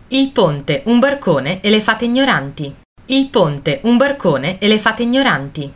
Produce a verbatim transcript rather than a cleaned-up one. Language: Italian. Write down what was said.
Il ponte, un barcone e le fate ignoranti. Il ponte, un barcone e le fate ignoranti.